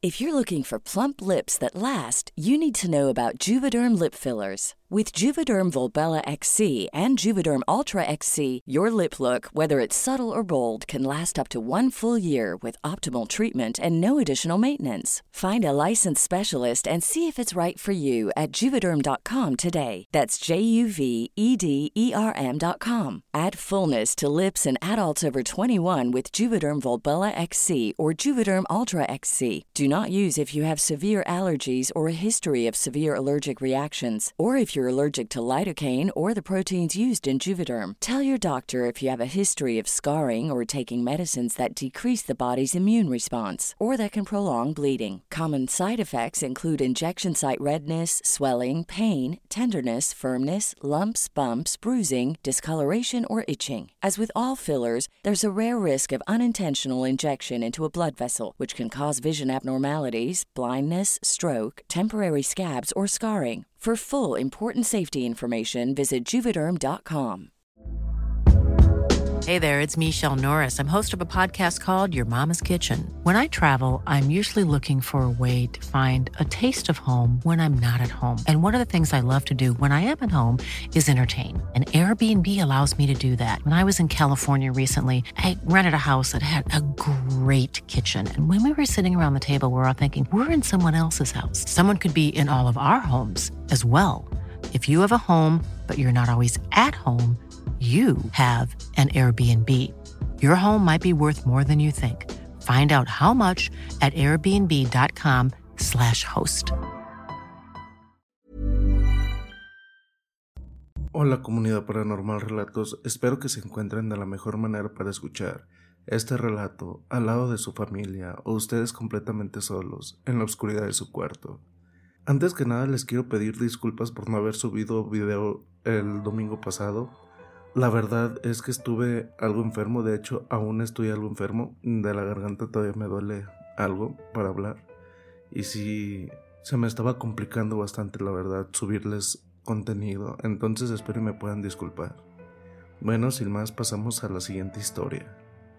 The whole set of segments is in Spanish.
If you're looking for plump lips that last, you need to know about Juvederm lip fillers. With Juvederm Volbella XC and Juvederm Ultra XC, your lip look, whether it's subtle or bold, can last up to 1 full year with optimal treatment and no additional maintenance. Find a licensed specialist and see if it's right for you at Juvederm.com today. That's JUVEDERM.com. Add fullness to lips in adults over 21 with Juvederm Volbella XC or Juvederm Ultra XC. Do not use if you have severe allergies or a history of severe allergic reactions, or if you're allergic to lidocaine or the proteins used in Juvederm. Tell your doctor if you have a history of scarring or taking medicines that decrease the body's immune response or that can prolong bleeding. Common side effects include injection site redness, swelling, pain, tenderness, firmness, lumps, bumps, bruising, discoloration, or itching. As with all fillers, there's a rare risk of unintentional injection into a blood vessel, which can cause vision abnormalities, blindness, stroke, temporary scabs, or scarring. For full, important safety information, visit Juvederm.com. Hey there, it's Michelle Norris. I'm host of a podcast called Your Mama's Kitchen. When I travel, I'm usually looking for a way to find a taste of home when I'm not at home. And one of the things I love to do when I am at home is entertain. And Airbnb allows me to do that. When I was in California recently, I rented a house that had a great kitchen. And when we were sitting around the table, we were all thinking, we're in someone else's house. Someone could be in all of our homes as well. If you have a home, but you're not always at home, you have an Airbnb. Your home might be worth more than you think. Find out how much at airbnb.com/host. Hola comunidad Paranormal Relatos, espero que se encuentren de la mejor manera para escuchar este relato al lado de su familia o ustedes completamente solos en la oscuridad de su cuarto. Antes que nada les quiero pedir disculpas por no haber subido video el domingo pasado. La verdad es que estuve algo enfermo, de hecho aún estoy algo enfermo, de la garganta todavía me duele algo para hablar y sí se me estaba complicando bastante la verdad subirles contenido, entonces espero y me puedan disculpar. Bueno, sin más pasamos a la siguiente historia.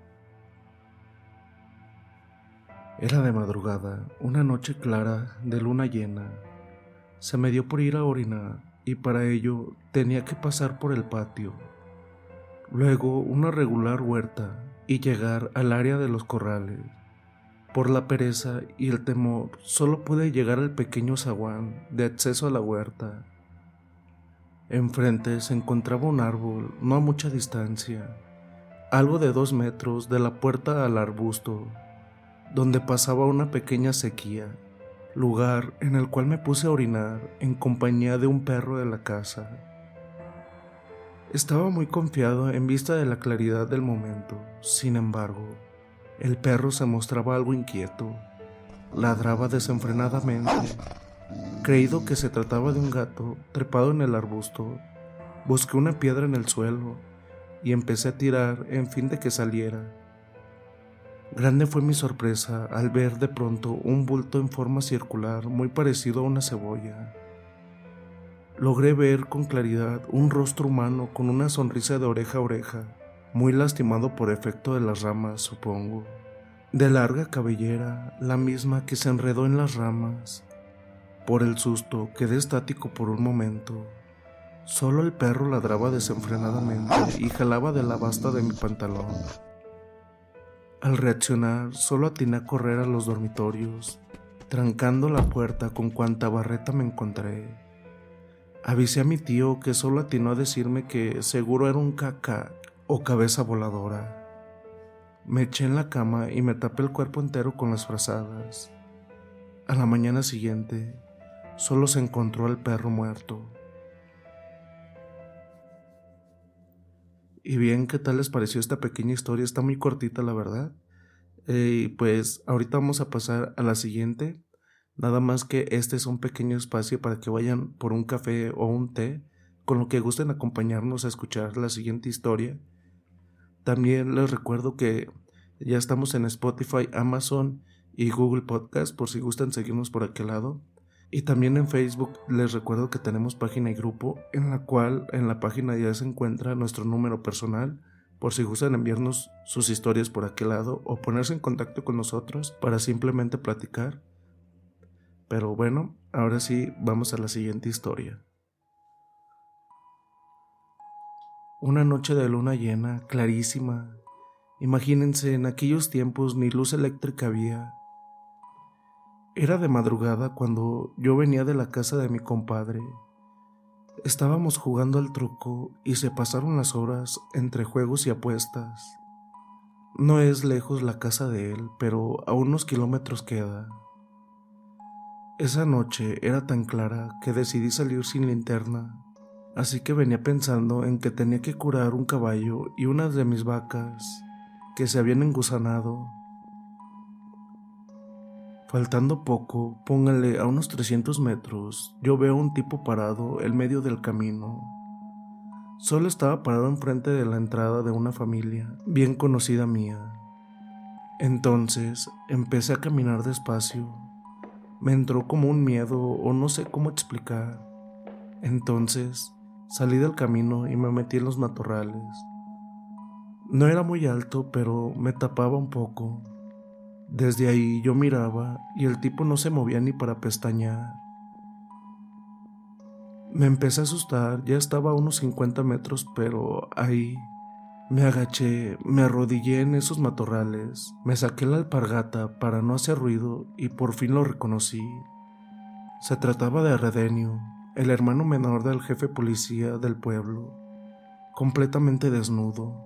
Era de madrugada, una noche clara de luna llena. Se me dio por ir a orinar y para ello tenía que pasar por el patio. Luego una regular huerta y llegar al área de los corrales. Por la pereza y el temor solo pude llegar al pequeño zaguán de acceso a la huerta. Enfrente se encontraba un árbol no a mucha distancia, algo de 2 metros de la puerta al arbusto, donde pasaba una pequeña sequía, lugar en el cual me puse a orinar en compañía de un perro de la casa. Estaba muy confiado en vista de la claridad del momento. Sin embargo, el perro se mostraba algo inquieto. Ladraba desenfrenadamente. Creído que se trataba de un gato trepado en el arbusto, busqué una piedra en el suelo y empecé a tirar en fin de que saliera. Grande fue mi sorpresa al ver de pronto un bulto en forma circular muy parecido a una cebolla. Logré ver con claridad un rostro humano con una sonrisa de oreja a oreja, muy lastimado por efecto de las ramas, supongo. De larga cabellera, la misma que se enredó en las ramas. Por el susto quedé estático por un momento. Solo el perro ladraba desenfrenadamente y jalaba de la basta de mi pantalón. Al reaccionar, solo atiné a correr a los dormitorios, trancando la puerta con cuanta barreta me encontré. Avisé a mi tío, que solo atinó a decirme que seguro era un caca o cabeza voladora. Me eché en la cama y me tapé el cuerpo entero con las frazadas. A la mañana siguiente, solo se encontró al perro muerto. Y bien, ¿qué tal les pareció esta pequeña historia? Está muy cortita, la verdad. Pues ahorita vamos a pasar a la siguiente. Nada más que este es un pequeño espacio para que vayan por un café o un té, con lo que gusten acompañarnos a escuchar la siguiente historia. También les recuerdo que ya estamos en Spotify, Amazon y Google Podcast, por si gustan seguirnos por aquel lado. Y también en Facebook les recuerdo que tenemos página y grupo, en la cual en la página ya se encuentra nuestro número personal, por si gustan enviarnos sus historias por aquel lado o ponerse en contacto con nosotros para simplemente platicar. Pero bueno, ahora sí, vamos a la siguiente historia. Una noche de luna llena, clarísima. Imagínense, en aquellos tiempos ni luz eléctrica había. Era de madrugada cuando yo venía de la casa de mi compadre. Estábamos jugando al truco y se pasaron las horas entre juegos y apuestas. No es lejos la casa de él, pero a unos kilómetros queda. Esa noche era tan clara que decidí salir sin linterna, así que venía pensando en que tenía que curar un caballo y unas de mis vacas que se habían engusanado. Faltando poco, póngale a unos 300 metros, yo veo a un tipo parado en medio del camino. Solo estaba parado enfrente de la entrada de una familia bien conocida mía. Entonces empecé a caminar despacio. Me entró como un miedo o no sé cómo explicar. Entonces salí del camino y me metí en los matorrales. No era muy alto, pero me tapaba un poco. Desde ahí yo miraba y el tipo no se movía ni para pestañear. Me empecé a asustar, ya estaba a unos 50 metros, pero ahí me agaché, me arrodillé en esos matorrales, me saqué la alpargata para no hacer ruido y por fin lo reconocí. Se trataba de Redenio, el hermano menor del jefe policía del pueblo, completamente desnudo.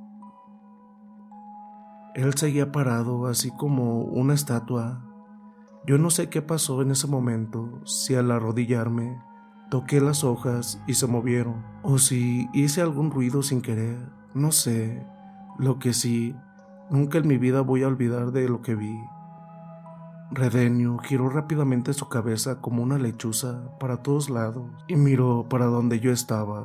Él seguía parado, así como una estatua. Yo no sé qué pasó en ese momento, si al arrodillarme toqué las hojas y se movieron, o si hice algún ruido sin querer, no sé. Lo que sí, nunca en mi vida voy a olvidar de lo que vi. Redenio giró rápidamente su cabeza como una lechuza para todos lados y miró para donde yo estaba.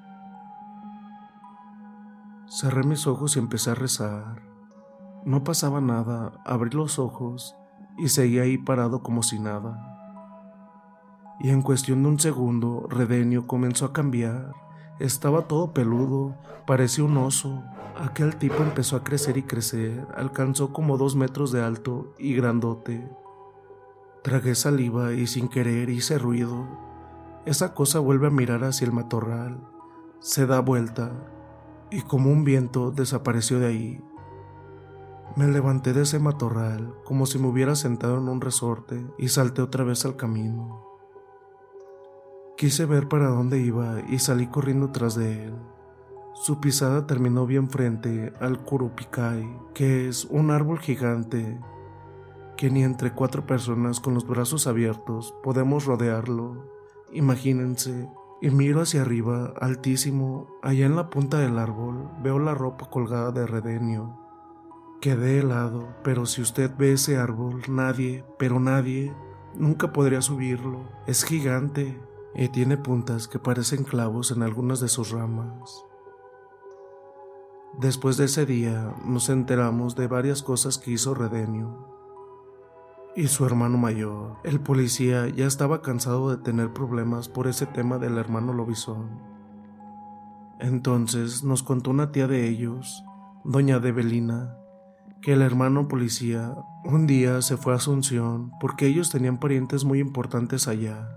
Cerré mis ojos y empecé a rezar. No pasaba nada, abrí los ojos y seguí ahí parado como si nada. Y en cuestión de un segundo, Redenio comenzó a cambiar. Estaba todo peludo, parecía un oso. Aquel tipo empezó a crecer y crecer, alcanzó como 2 metros de alto y grandote. Tragué saliva y sin querer hice ruido. Esa cosa vuelve a mirar hacia el matorral, se da vuelta y como un viento desapareció de ahí. Me levanté de ese matorral como si me hubiera sentado en un resorte y salté otra vez al camino. Quise ver para dónde iba y salí corriendo tras de él. Su pisada terminó bien frente al curupicay, que es un árbol gigante que ni entre 4 personas con los brazos abiertos podemos rodearlo. Imagínense, y miro hacia arriba, altísimo, allá en la punta del árbol, veo la ropa colgada de Redenio. Quedé helado, pero si usted ve ese árbol, nadie, pero nadie, nunca podría subirlo. Es gigante y tiene puntas que parecen clavos en algunas de sus ramas. Después de ese día, nos enteramos de varias cosas que hizo Redenio. Y su hermano mayor, el policía, ya estaba cansado de tener problemas por ese tema del hermano lobizón. Entonces nos contó una tía de ellos, doña Debelina, que el hermano policía un día se fue a Asunción porque ellos tenían parientes muy importantes allá.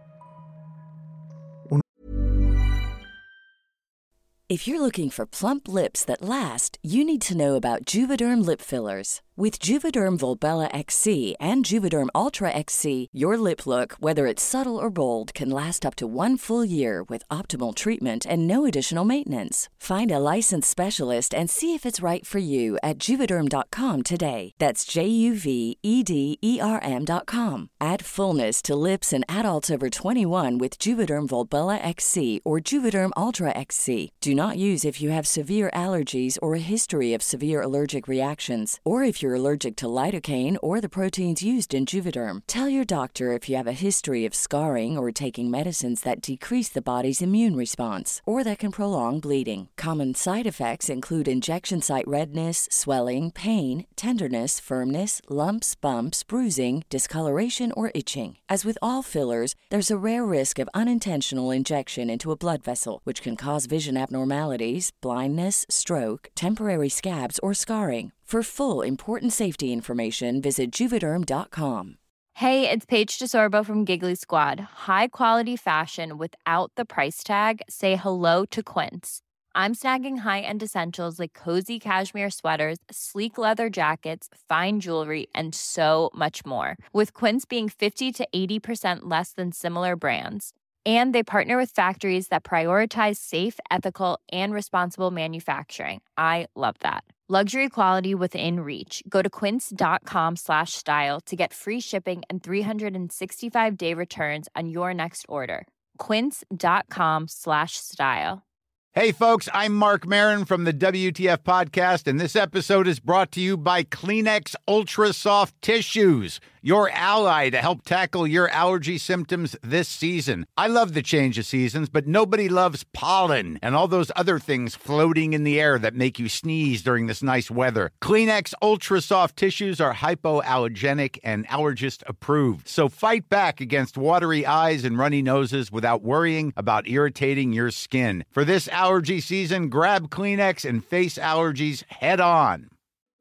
If you're looking for plump lips that last, you need to know about Juvederm lip fillers. With Juvederm Volbella XC and Juvederm Ultra XC, your lip look, whether it's subtle or bold, can last up to 1 full year with optimal treatment and no additional maintenance. Find a licensed specialist and see if it's right for you at Juvederm.com today. That's JUVEDERM.com. Add fullness to lips in adults over 21 with Juvederm Volbella XC or Juvederm Ultra XC. Do not use if you have severe allergies or a history of severe allergic reactions, or if you're allergic to lidocaine or the proteins used in Juvederm. Tell your doctor if you have a history of scarring or taking medicines that decrease the body's immune response or that can prolong bleeding. Common side effects include injection site redness, swelling, pain, tenderness, firmness, lumps, bumps, bruising, discoloration, or itching. As with all fillers, there's a rare risk of unintentional injection into a blood vessel, which can cause vision abnormalities, blindness, stroke, temporary scabs, or scarring. For full, important safety information, visit Juvederm.com. Hey, it's Paige DeSorbo from Giggly Squad. High quality fashion without the price tag. Say hello to Quince. I'm snagging high-end essentials like cozy cashmere sweaters, sleek leather jackets, fine jewelry, and so much more. With Quince being 50 to 80% less than similar brands. And they partner with factories that prioritize safe, ethical, and responsible manufacturing. I love that. Luxury quality within reach. Go to quince.com/style to get free shipping and 365-day returns on your next order. Quince.com/style. Hey folks, I'm Mark Maron from the WTF Podcast, and this episode is brought to you by Kleenex Ultra Soft Tissues, your ally to help tackle your allergy symptoms this season. I love the change of seasons, but nobody loves pollen and all those other things floating in the air that make you sneeze during this nice weather. Kleenex Ultra Soft Tissues are hypoallergenic and allergist approved, so fight back against watery eyes and runny noses without worrying about irritating your skin. For this allergy season, grab Kleenex and face allergies head on.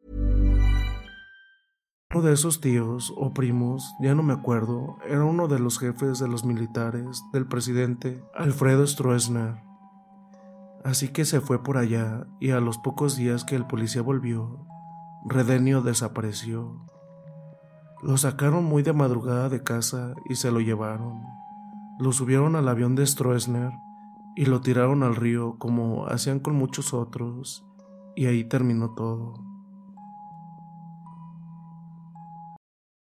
Uno de esos tíos o primos, ya no me acuerdo, era uno de los jefes de los militares del presidente Alfredo Stroessner. Así que se fue por allá y a los pocos días que el policía volvió, Redenio desapareció. Lo sacaron muy de madrugada de casa y se lo llevaron. Lo subieron al avión de Stroessner y lo tiraron al río como hacían con muchos otros, y ahí terminó todo.